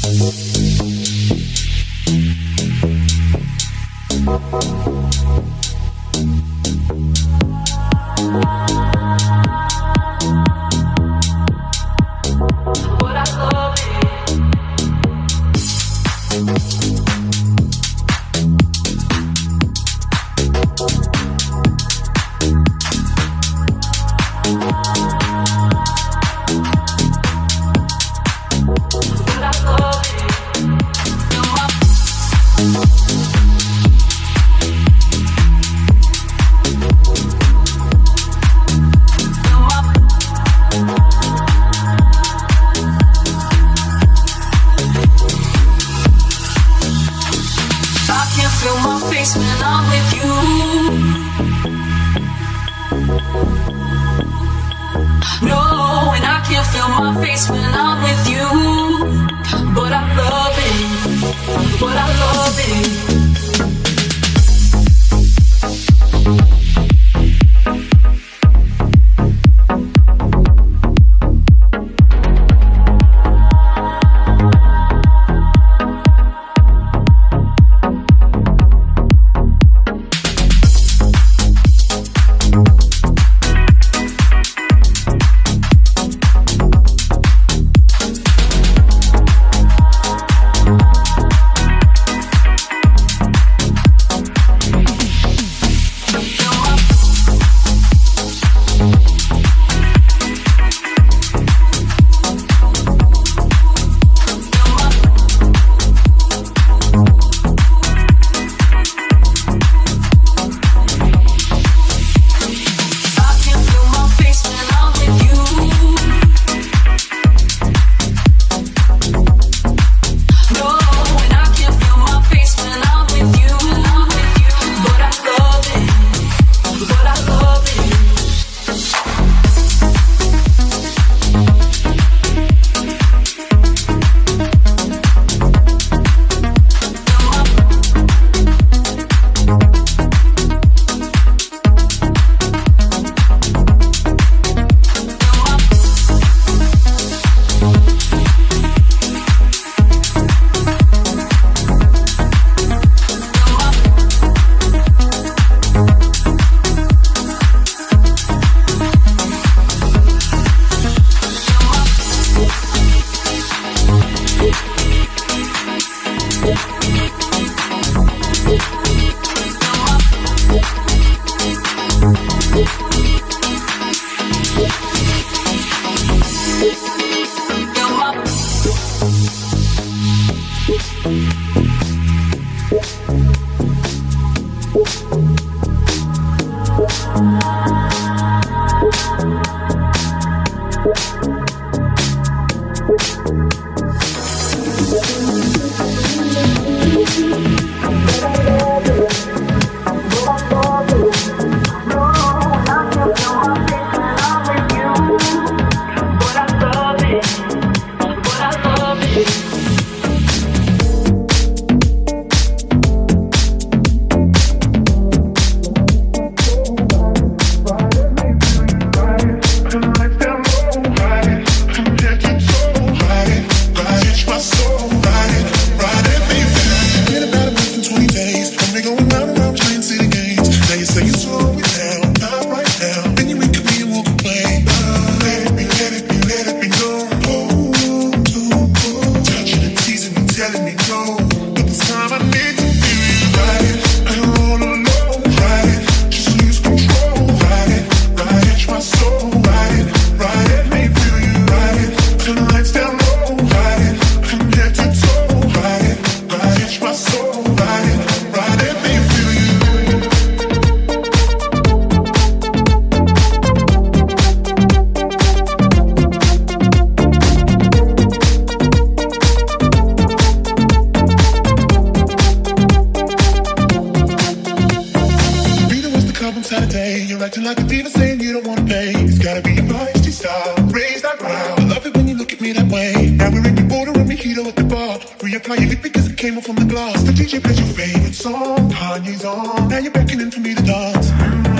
Reapply your lip because it came off on the glass. The DJ plays your favorite song, Kanye's on. Now you're beckoning for me to dance.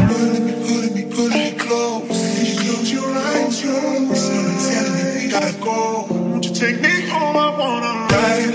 Pulling me close. Can you close your eyes, Someone's telling me we gotta go. Won't you take me home? I wanna ride.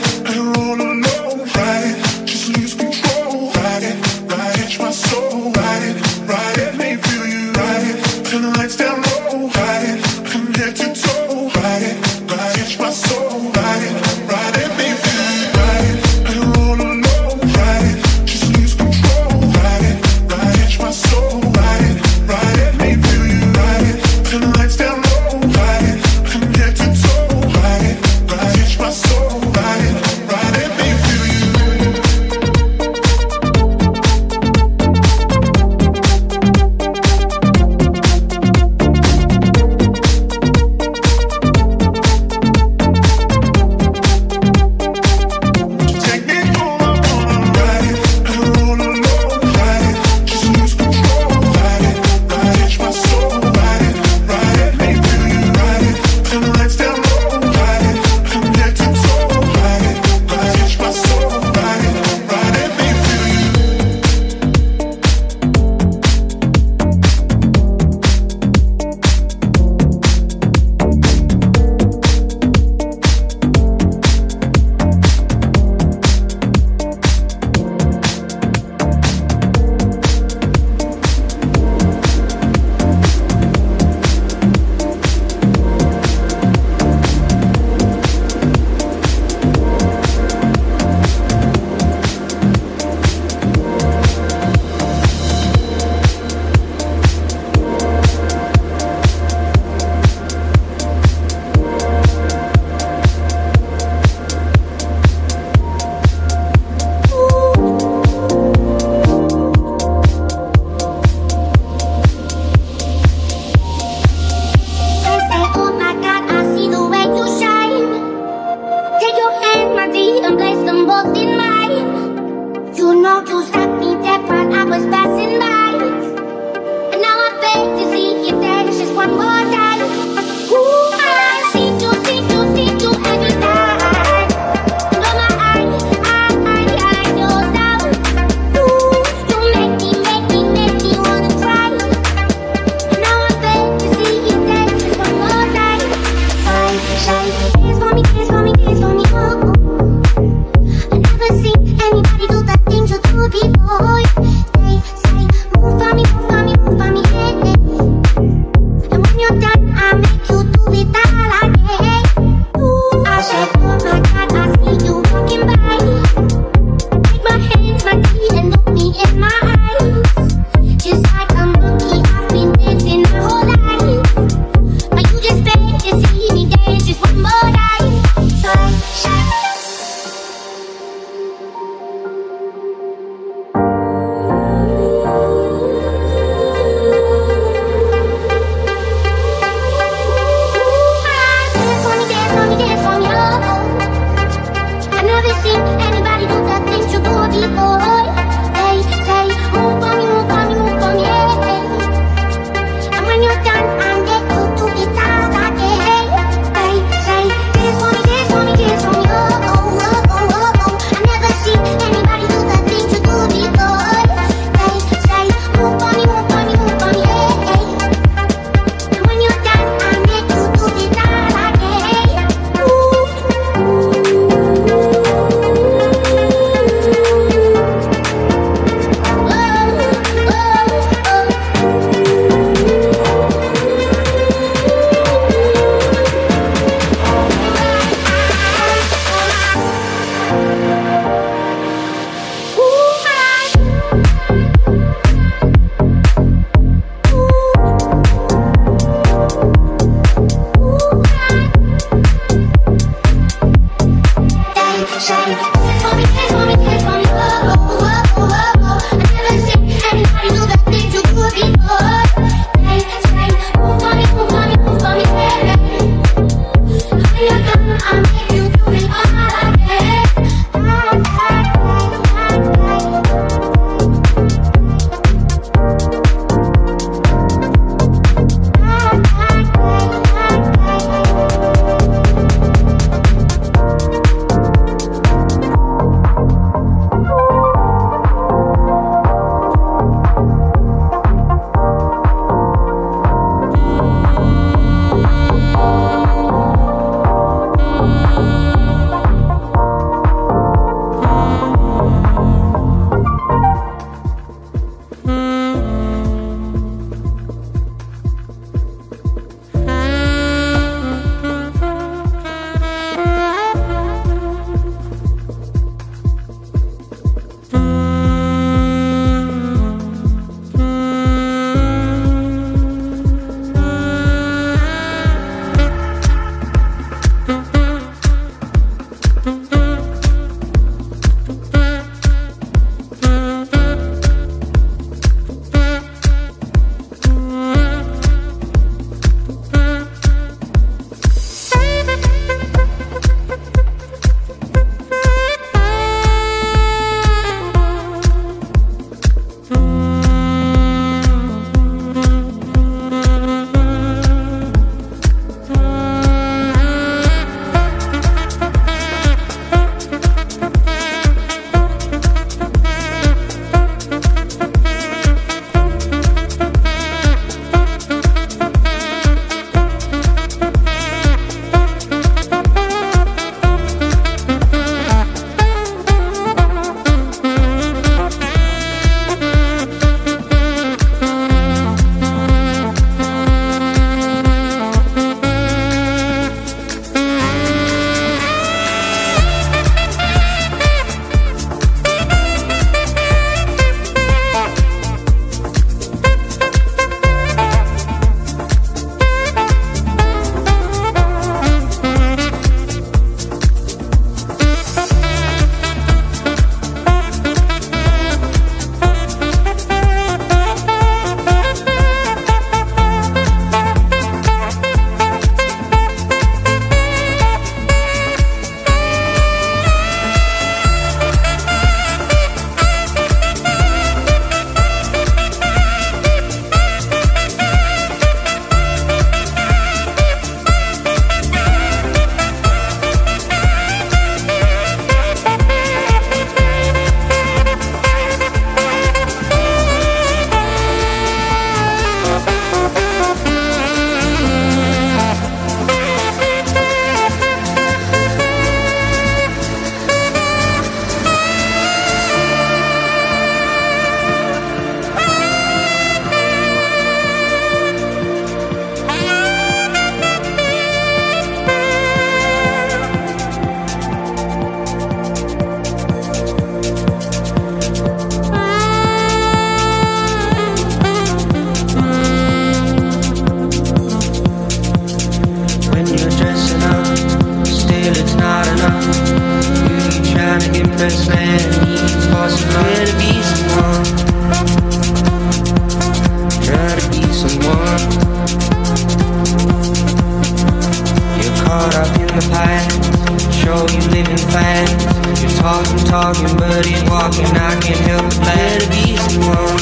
talking, but ain't walking. I can't help but let it be someone.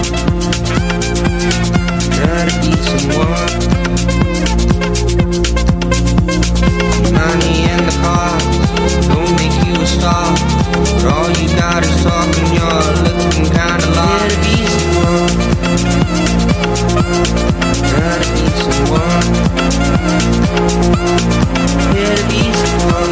Try to be someone. Money and the cars don't make you a star, but all you got is talking. You're looking kinda lost. Try to be someone. Try to be someone. Try to be someone.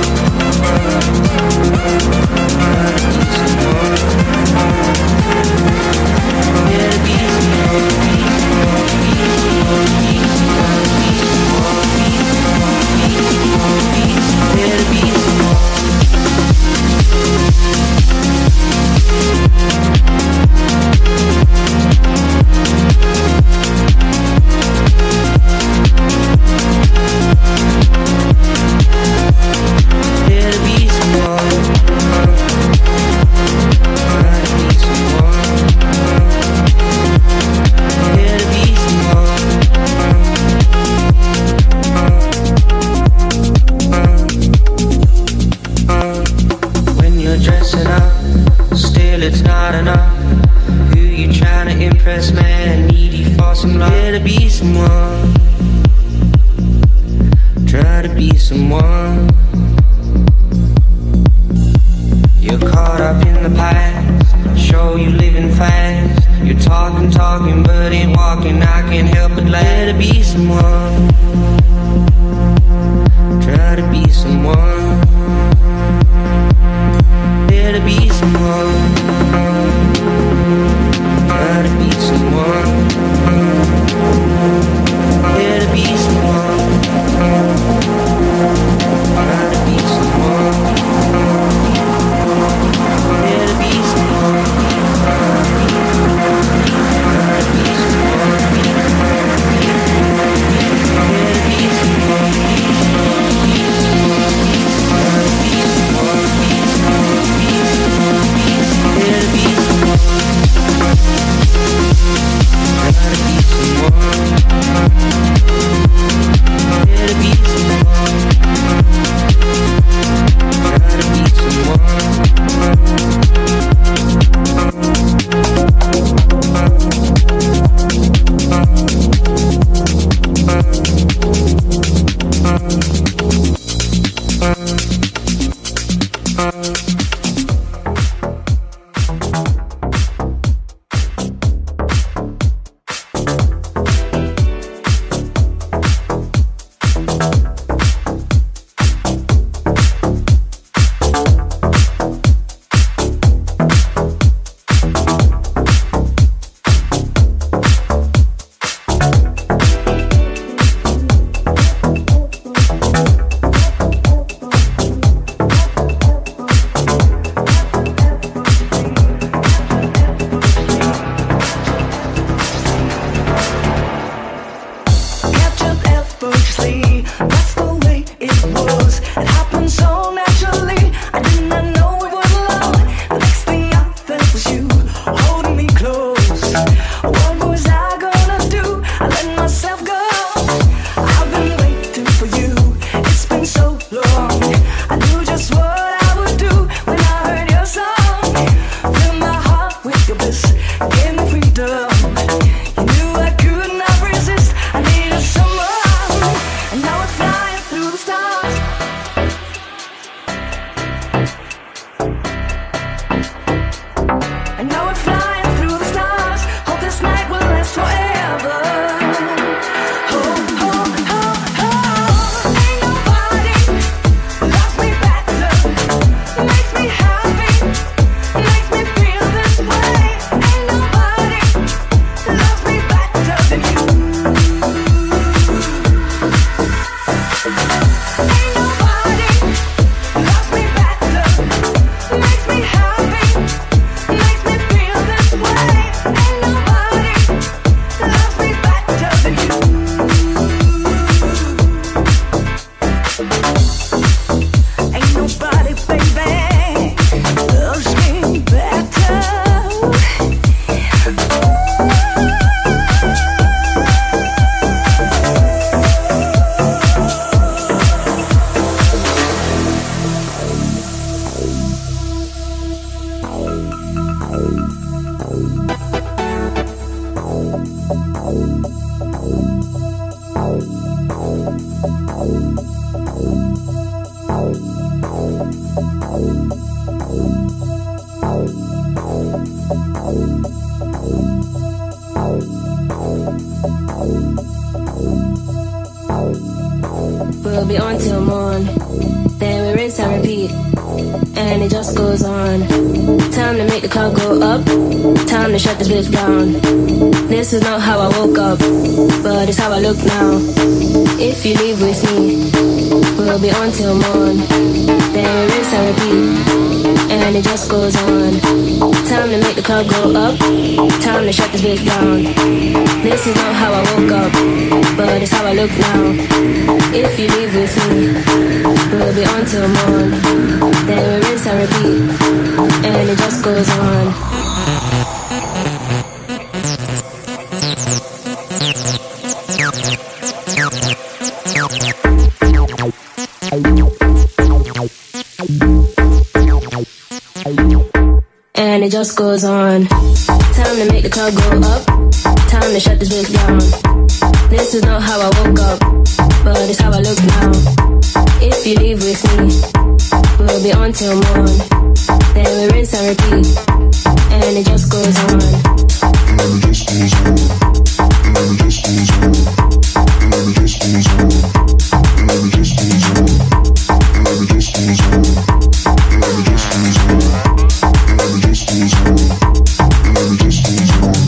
We'll be on till morn, then we rinse and repeat, and it just goes on. Time to make the club go up, time to shut this bitch down. This is not how I woke up, but it's how I look now. If you leave with me, we'll be on till morn, then we rinse and repeat, and it just goes on. Time to make the club go up, time to shut this bitch down. This is not how I woke up, but it's how I look now. If you leave with me, we'll be on till morn, then we rinse and repeat, and it just goes on. And it just goes on. Time to make the club go up, time to shut this bitch down. This is not how I woke up, but it's how I look now. If you leave with me, we'll be on till morn, then we rinse and repeat, and it just goes on. And it just goes on. And it just goes on. And it just goes on. And it just goes on. And it just goes on. And it just goes on. And it just goes on. And it just goes on.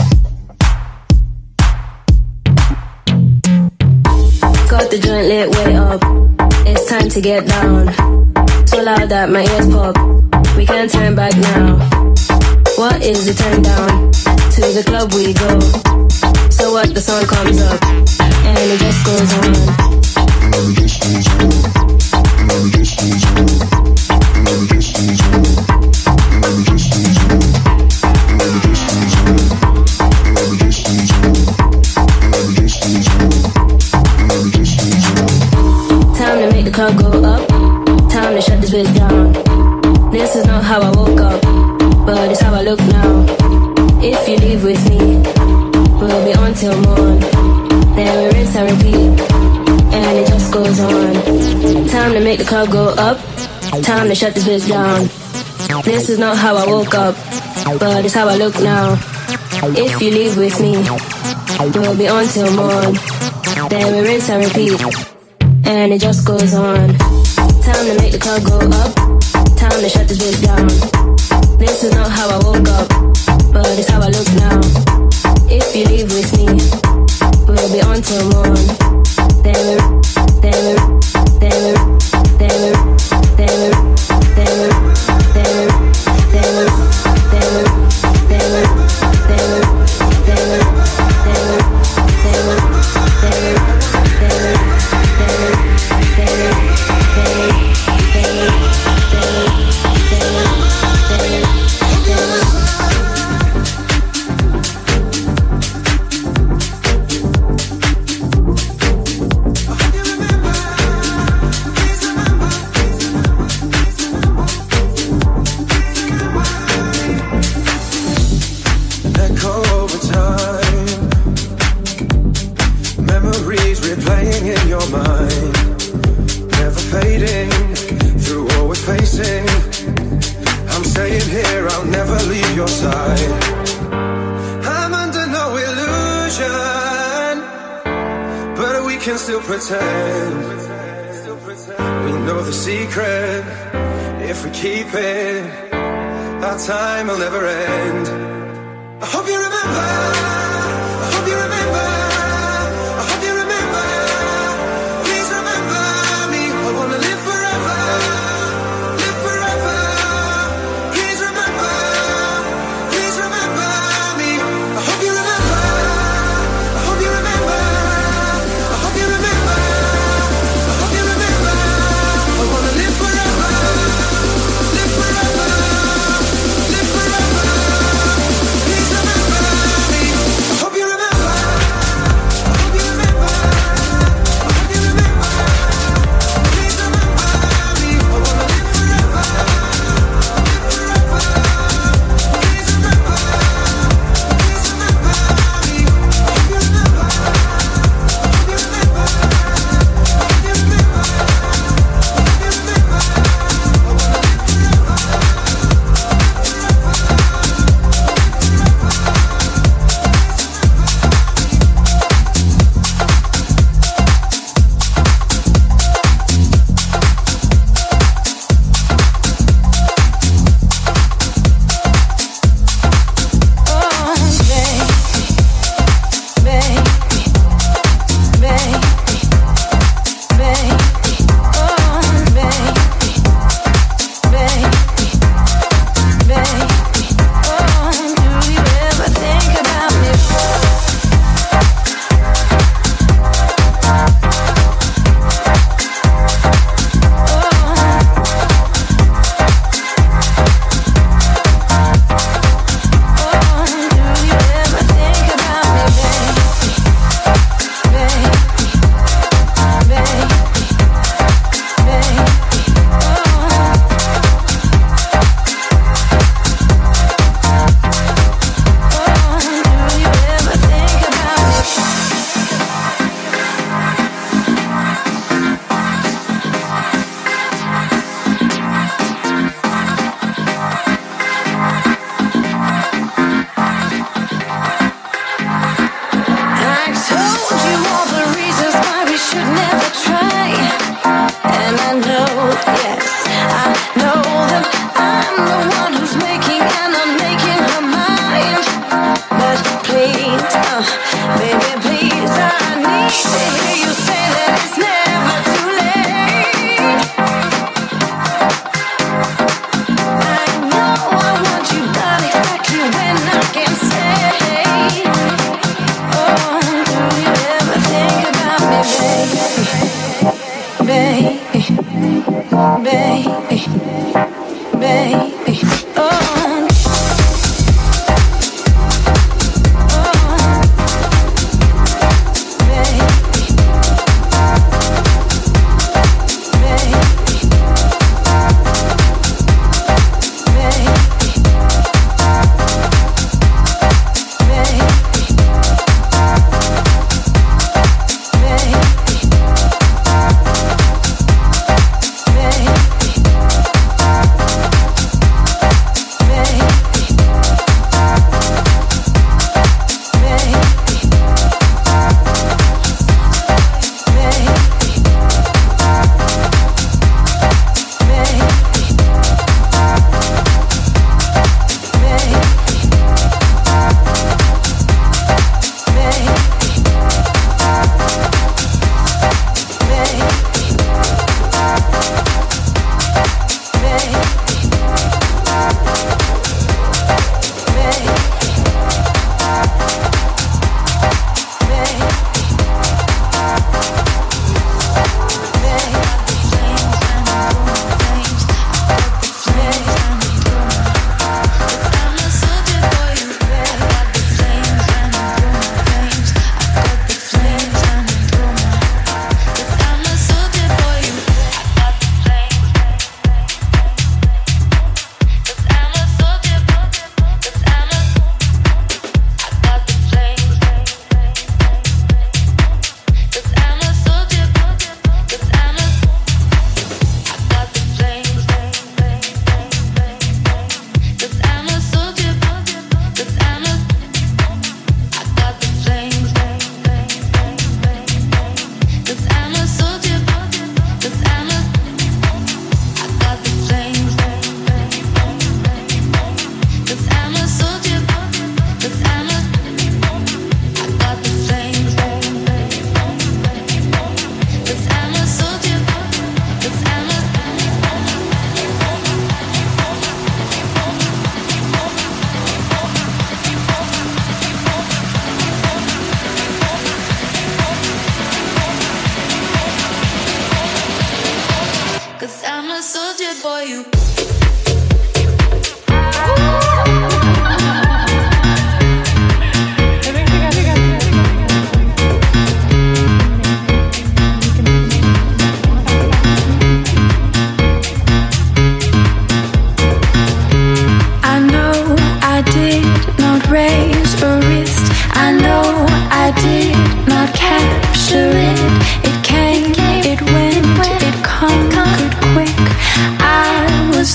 Got the joint lit way up, it's time to get down. So loud that my ears pop, we can't turn back now. What is the turn down? To the club we go. So what, the song comes up, and it just goes on. And it just goes on. And it just goes on. And it just goes on. And it just goes on. And it just goes on. And it just goes on. And it just goes on. And it just goes on. Time to make the club go up, time to shut this bitch down. This is not how I woke up, but it's how I look now. If you leave with me, we'll be on till morn, then we rinse and repeat, and it just goes on. Time to make the club go up, time to shut this bitch down. This is not how I woke up, but it's how I look now. If you leave with me, we'll be on till morn, then we rinse and repeat, and it just goes on. Time to make the club go up, time to shut this bitch down. This is not how I woke up, but it's how I look now. If you leave with me, we'll be on till morn, then we, then we, then we, then we, then we, then we, then we, then we, then we, then we, then we, then we, then we, then we, time will never end. I hope you remember. I hope you remember. I hope you remember. Please remember me. I wanna live forever. Live forever. Please remember. Please remember me. I hope you remember. I hope you remember. I hope you remember. I hope you remember. I wanna live forever. Live forever. Live forever. Please remember me. I hope you remember. It came, it went, it conquered quick. I was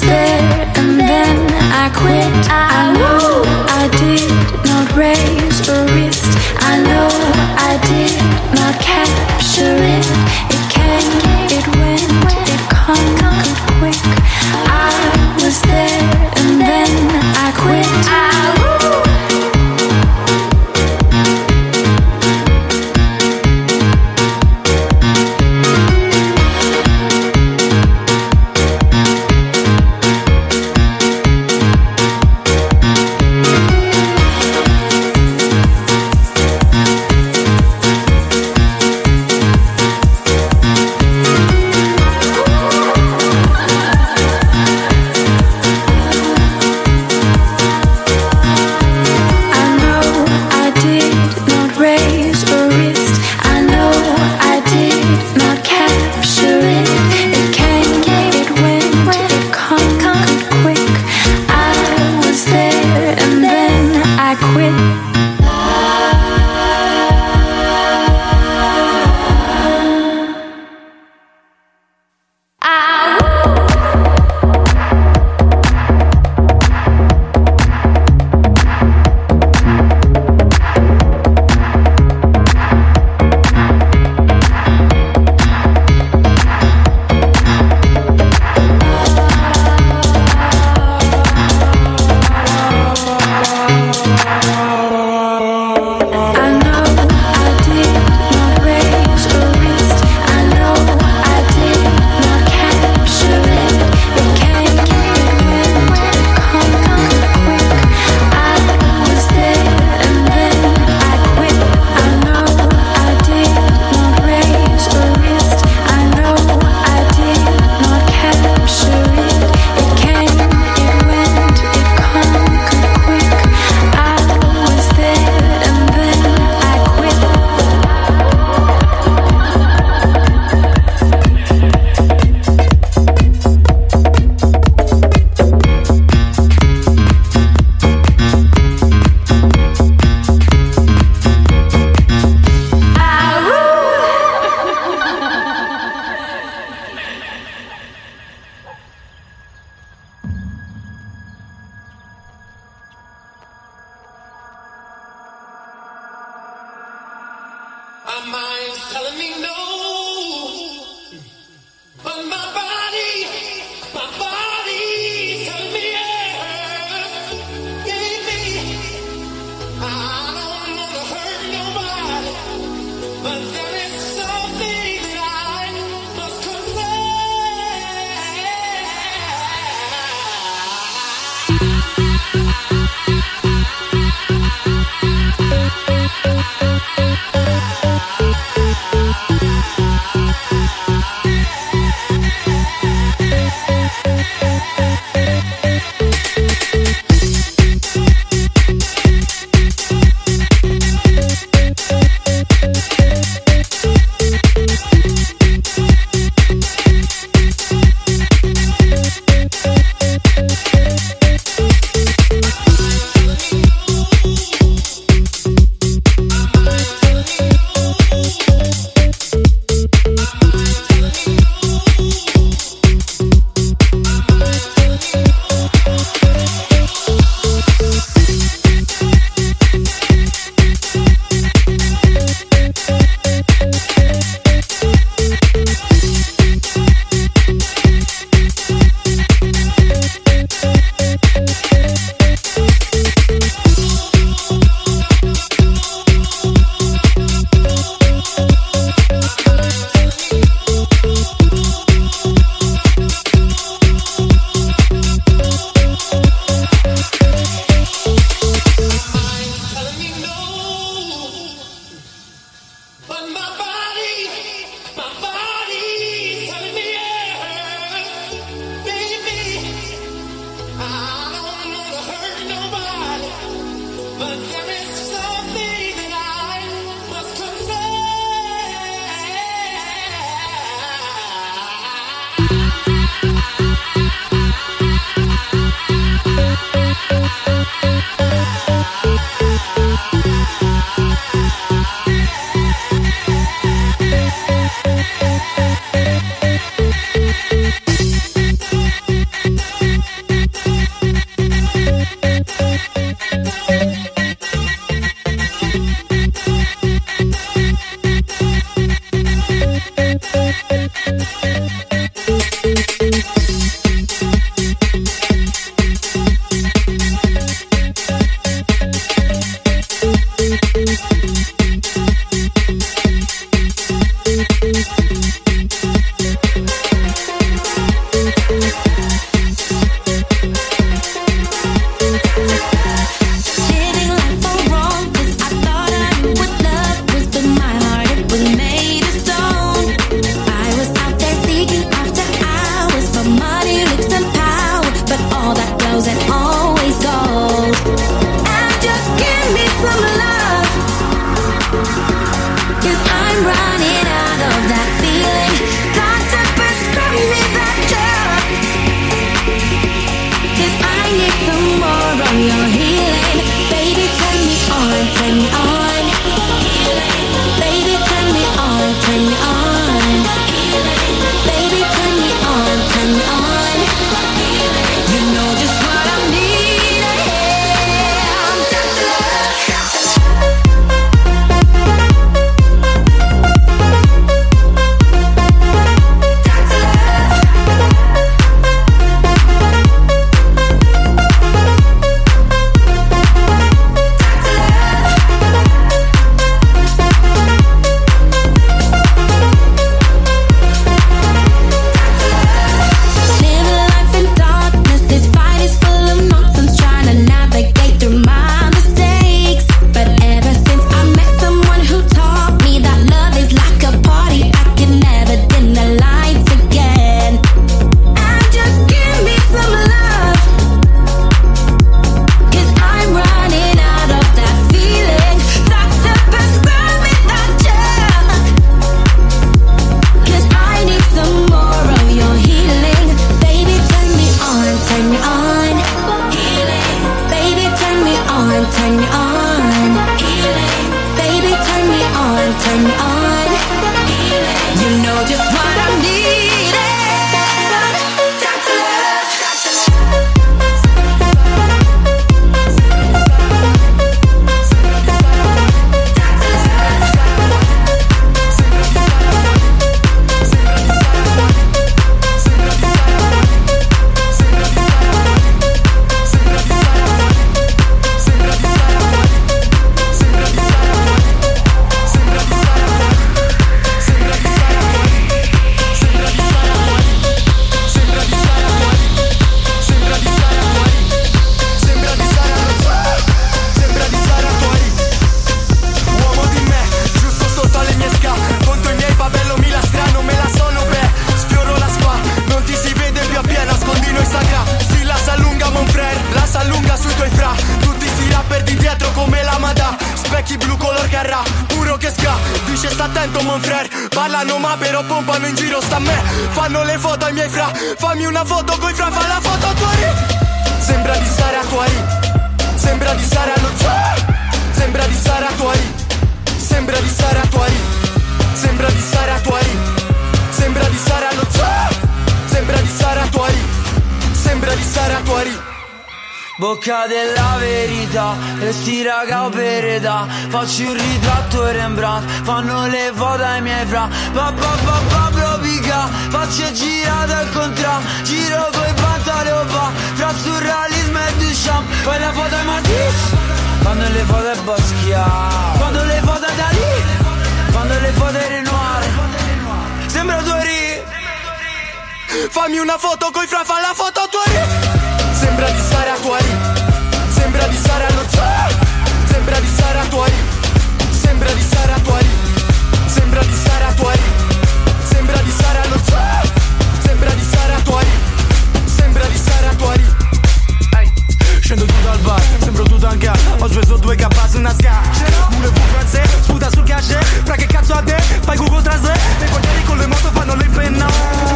occhi blu color carrà, puro che sca. Dice sta attento mon frère, parlano ma però pompano in giro sta a me. Fanno le foto ai miei fra, fammi una foto coi fra, fa la foto a Tuari. Sembra di stare a Tuari, sembra di stare allo zoo. Sembra di stare a Tuari, sembra di stare a Tuari, sembra di stare a Tuari, sembra di stare allo zoo. Sembra di stare a Tuari, sembra di stare a Tuari. Bocca della verità, e sti raga opereta. Faccio un ritratto Rembrandt, fanno le foto ai miei fra. Pablo pica, faccio girate al contrario. Giro coi pantaloni va, fra surrealismo e Duchamp. Poi la foto ai Matisse, fanno le foto ai Basquiat, fanno le foto ai Dalì, fanno le foto ai Renoir. Sembra Tuari. Fammi una foto coi fra, fa la foto a Tuari. Sembra di stare a Tuari, sembra di stare allo zoo. Sembra di stare a Tuari, sembra di stare a Tuari, sembra di stare a Tuari, sembra di stare allo zoo. Sembra di stare a Tuari, sembra di stare a Tuari. Scendo tutto al bar, sembro tutto anche a. Ho speso 2K su una ska. Voulez-vous français, sputa sul cachet. Fra che cazzo a te, fai Google Translate. Le guardieri con le moto fanno le penna.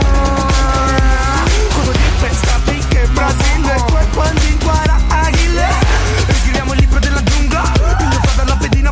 Cosa ti pensavi che Brasile, quel quando inquara Aguile. Scriviamo il libro della giungla. Il mio fratello appendino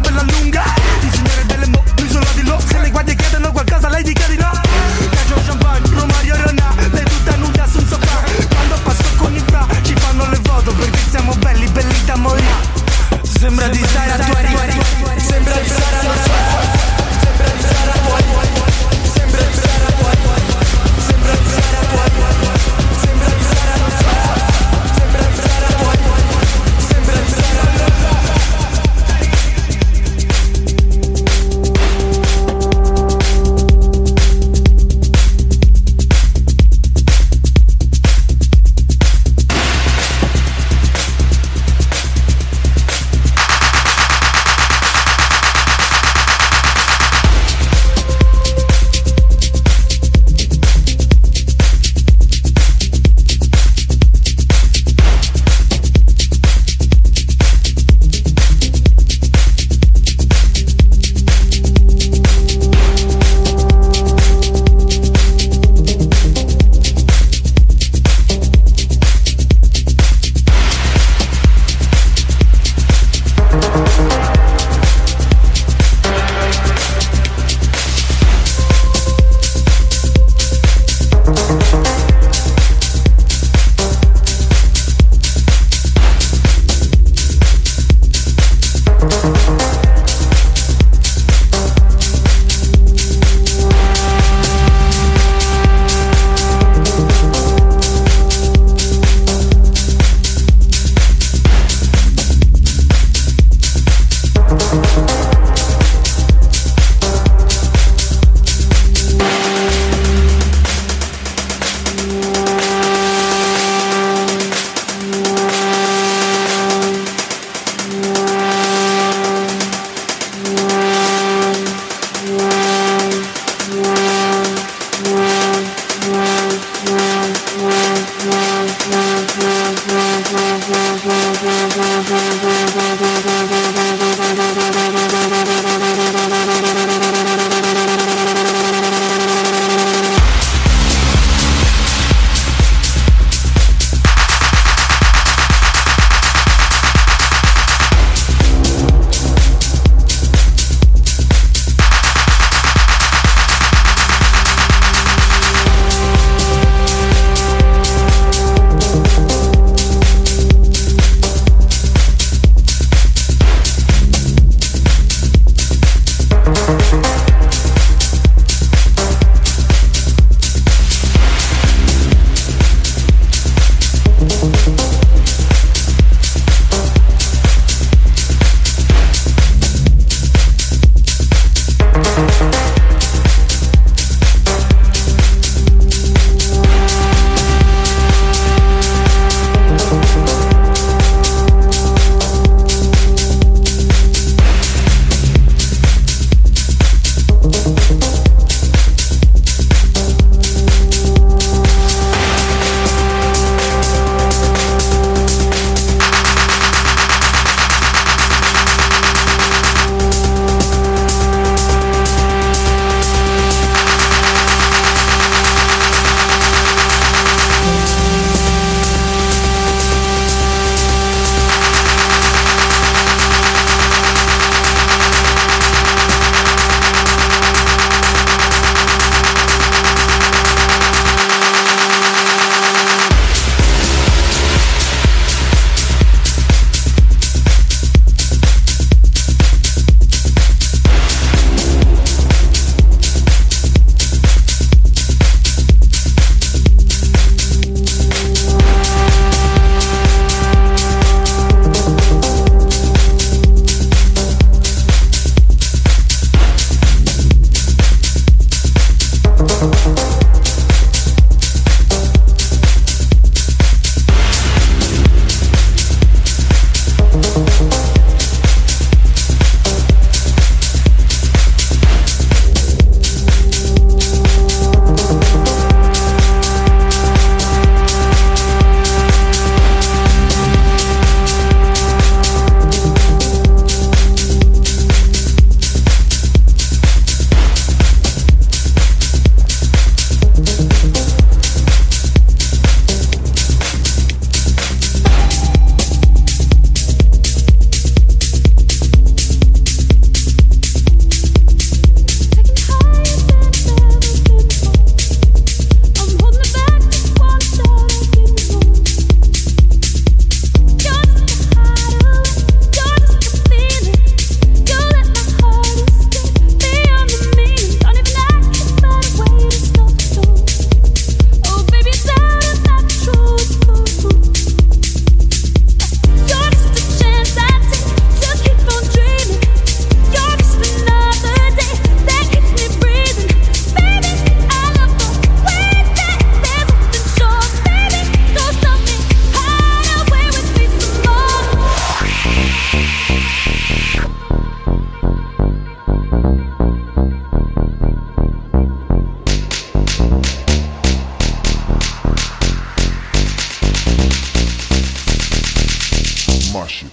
my shit.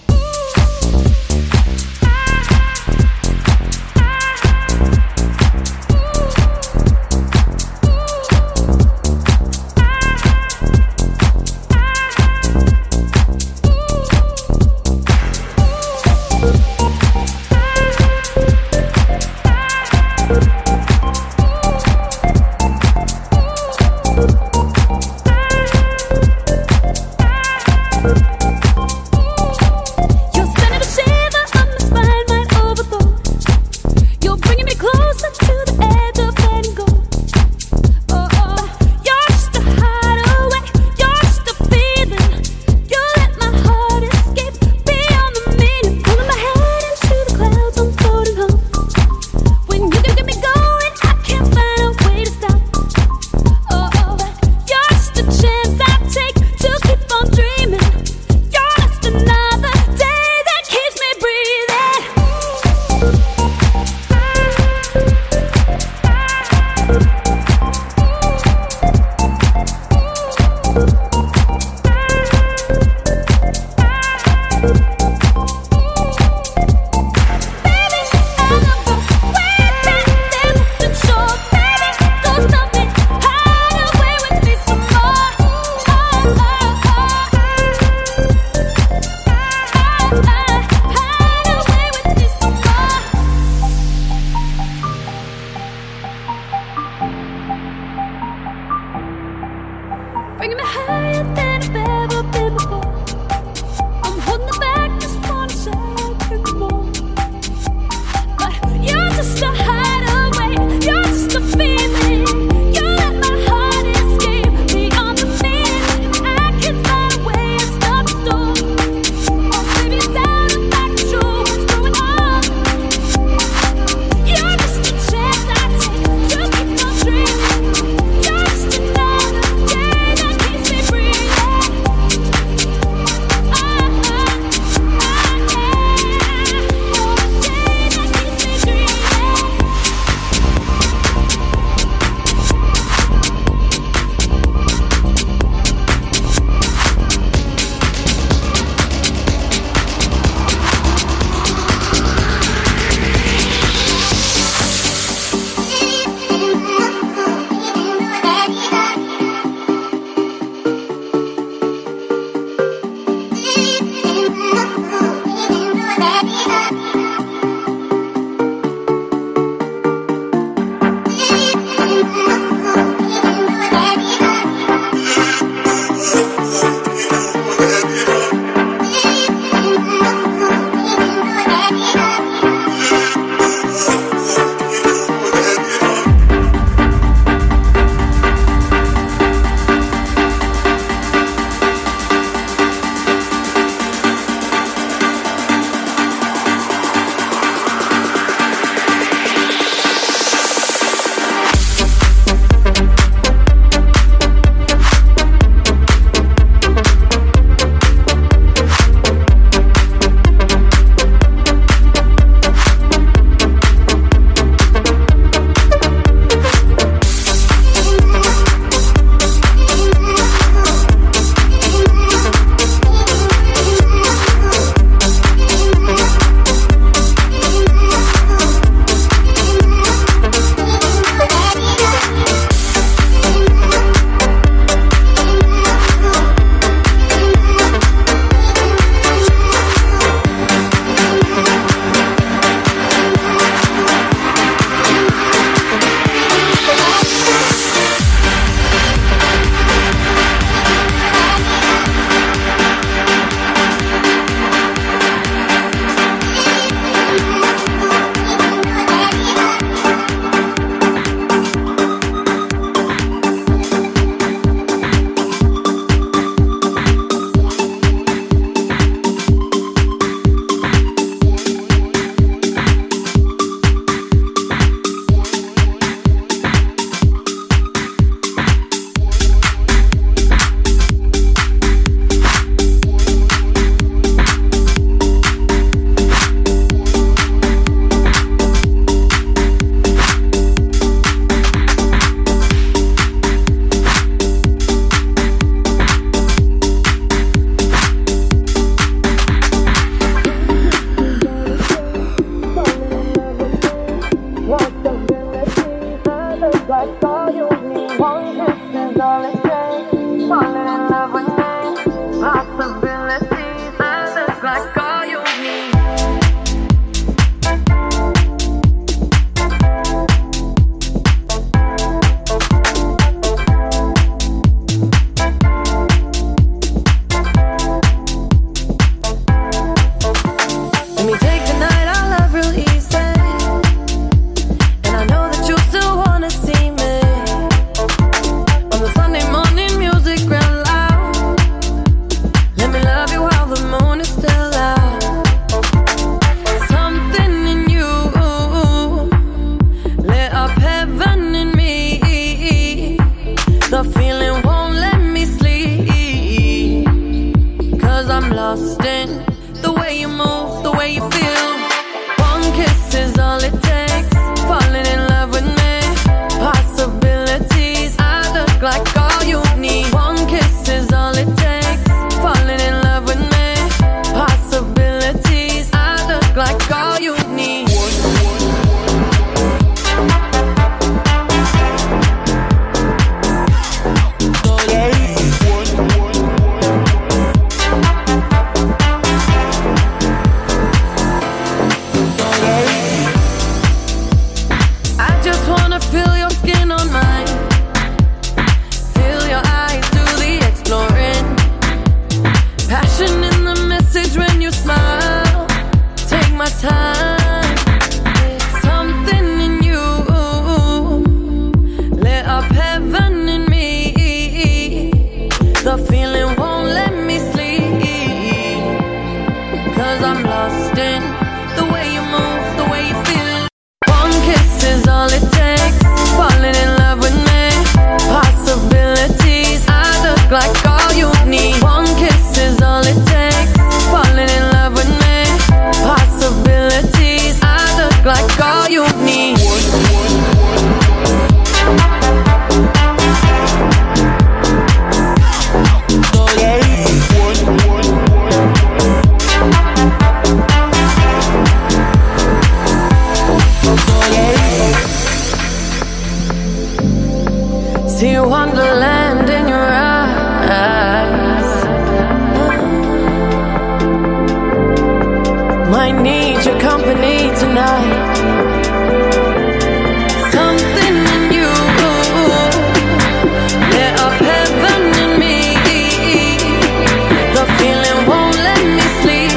Breathe. falling in love with me. Possibilities, I look like all you need. Let me take the night I love real easy, and I know that you still wanna see me. On the Sunday morning music real loud. Let me love you while the moon is still out. Something in you lit up heaven in me. The feeling won't let me sleep, 'cause I'm lost in the way you move, the way you feel. One kiss is all it takes. Falling in love with me. Possibilities, I look like all you need. One kiss is all it takes. Falling in love with me. Possibilities, I look like all you need. I just wanna feel your skin on mine. Feel your eyes do the exploring. Passion in the message when you smile. Take my time. Something in you lit up heaven in me. The feeling won't let me sleep, 'cause I'm lost in the way you move, the way you feel. One kiss is all it takes. Falling in love with me. Possibilities, I look like all you need. One kiss is all it takes. Falling in love with me. Possibilities, I look like all you need. See wonderland in your eyes. Might need your company tonight. Something in you lit up heaven in me. The feeling won't let me sleep,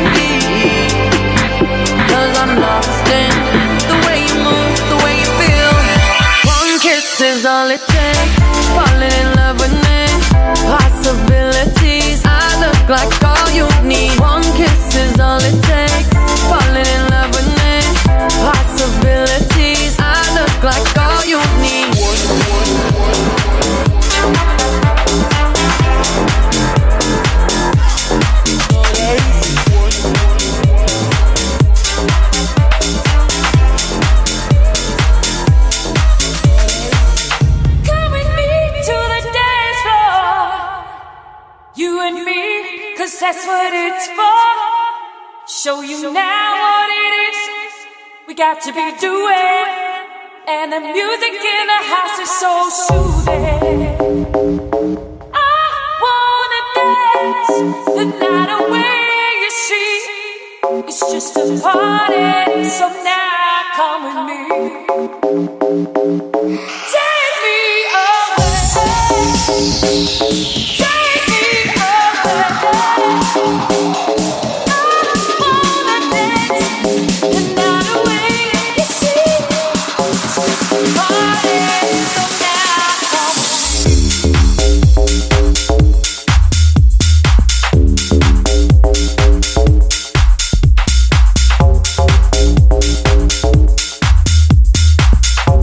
'cause I'm lost in the way you move, the way you feel. One kiss is all it takes. Falling in love with me. Possibilities, I look like all you need. One kiss is all it takes. Falling in love with me. Possibilities, I look like all you need. Come with me to the dance floor, you and me, 'cause that's what it's for. Show you now what it is we got to be doing, and the music in the house is so soothing. I wanna dance the night away, you see. It's just a party, so now come with me. Take me away. Take me away. I wanna dance the night away, you see. It's just a party, so now come with me.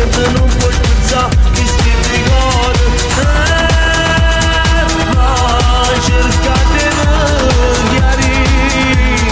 niente non puoi spezzare chi sti ricordi. Ma cercate di chiarire.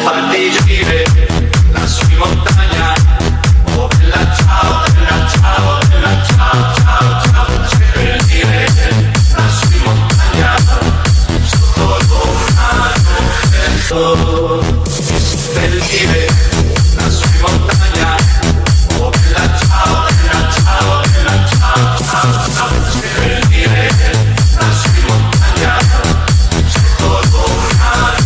farti gire lassù in montagna. Oh bella ciao, bella ciao, bella ciao, ciao, ciao. Per dire lassù in montagna, sotto l'oceano, per dire lassù in montagna. Oh bella ciao, bella ciao, bella ciao, ciao, ciao. Per dire lassù in montagna, sotto l'oceano.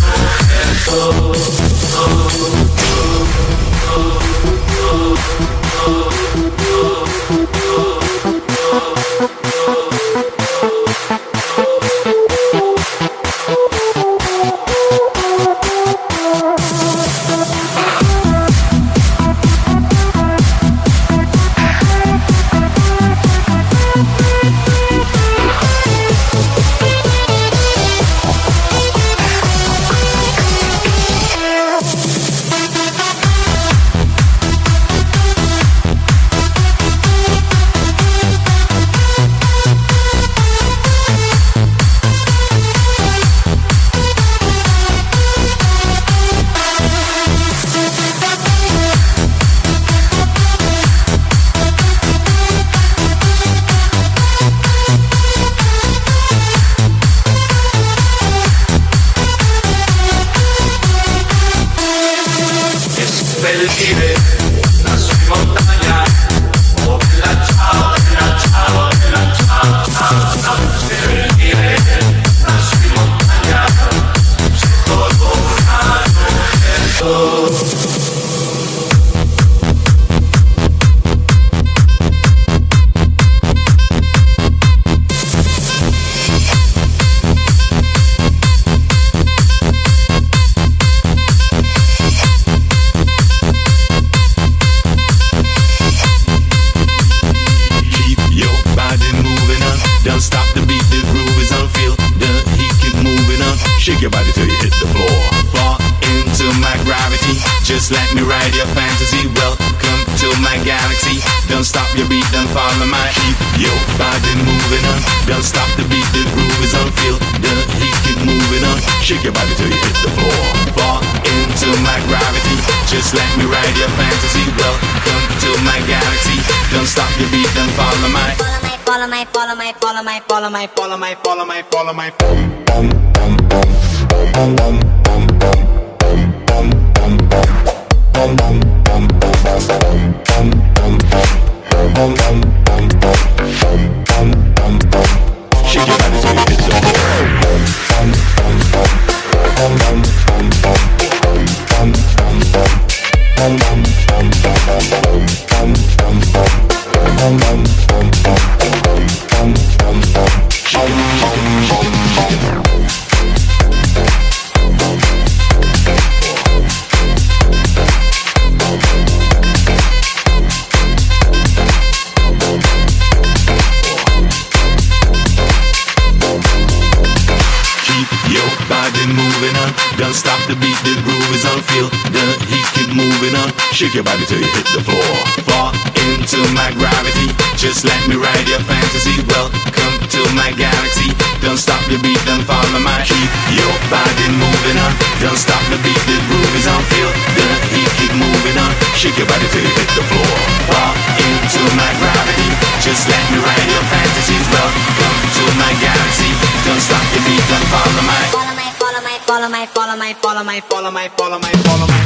Shake your body till you hit the floor. Fall into my gravity. Just let me ride your fantasy. Welcome to my galaxy. Don't stop your beat, don't follow my. Keep your body moving on. Don't stop the beat, the groove is on. Feel the heat, keep moving on. Shake your body till you hit the floor. Fall into my gravity. Just let me ride your fantasy. Welcome to my galaxy. Don't stop your beat, don't follow my. Follow my, follow my, follow my, follow my, follow my, follow my, follow my, follow my.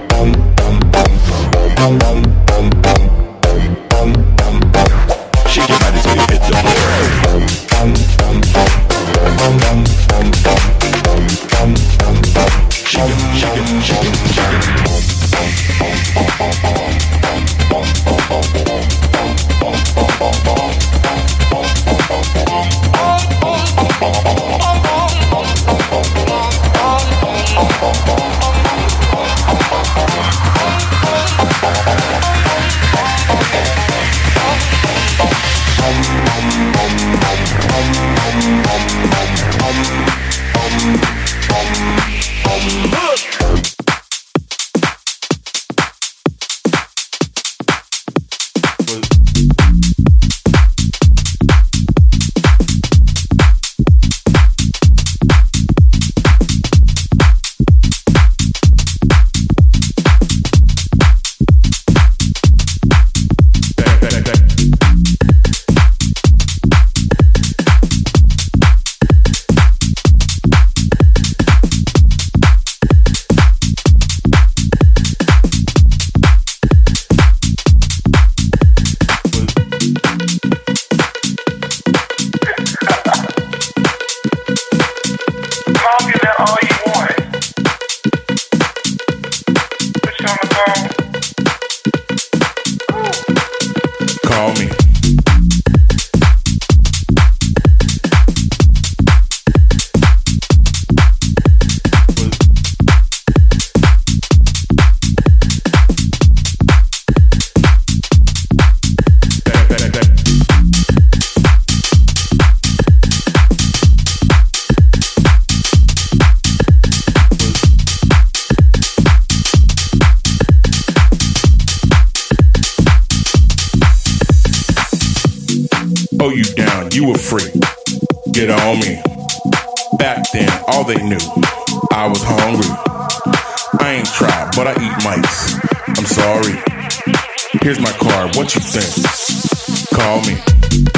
Shake your body till you hit the floor. Shake it, shake it, shake it, shake it. they knew I was hungry. I ain't tried, but I eat mice. I'm sorry. Here's my card, what you think? Call me.